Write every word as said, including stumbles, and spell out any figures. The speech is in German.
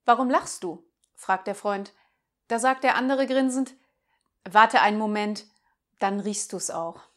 »Warum lachst du?« fragt der Freund. Da sagt der andere grinsend, »Warte einen Moment, dann riechst du's auch.«